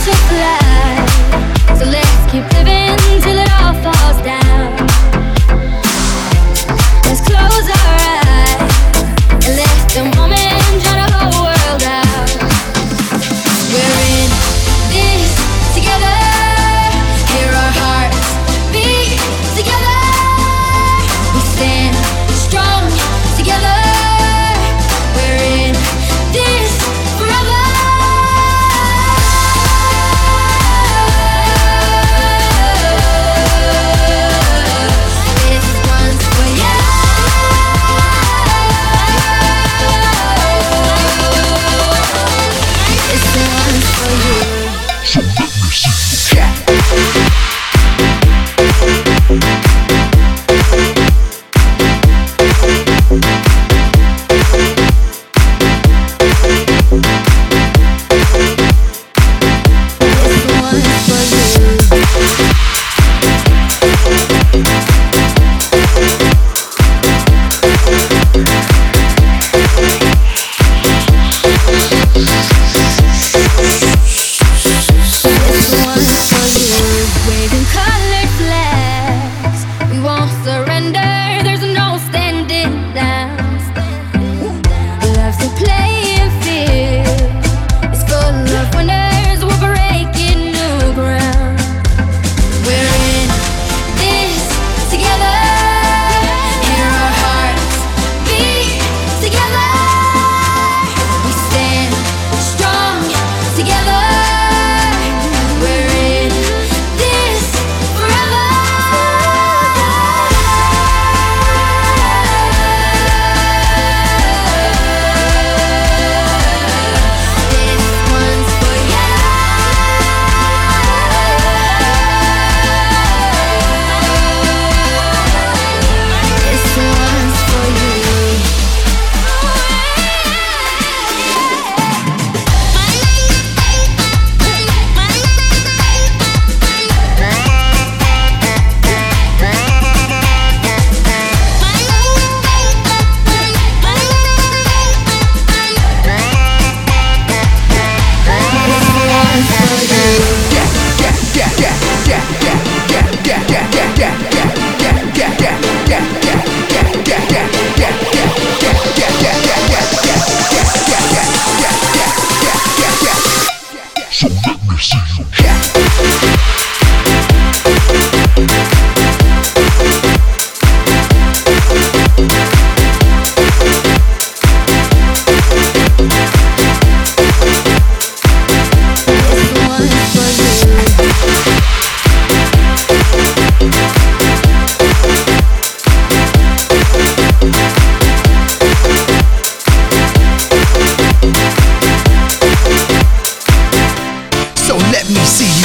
to fly. So let's keep living till it all falls down. Let's close our eyes and let the moment drown the whole world out. We're in this together. Hear our hearts beat together. We stand strong together. We're in this forever. This one's for you. This one's for you. So let me see you. So let me see you. So let me see you.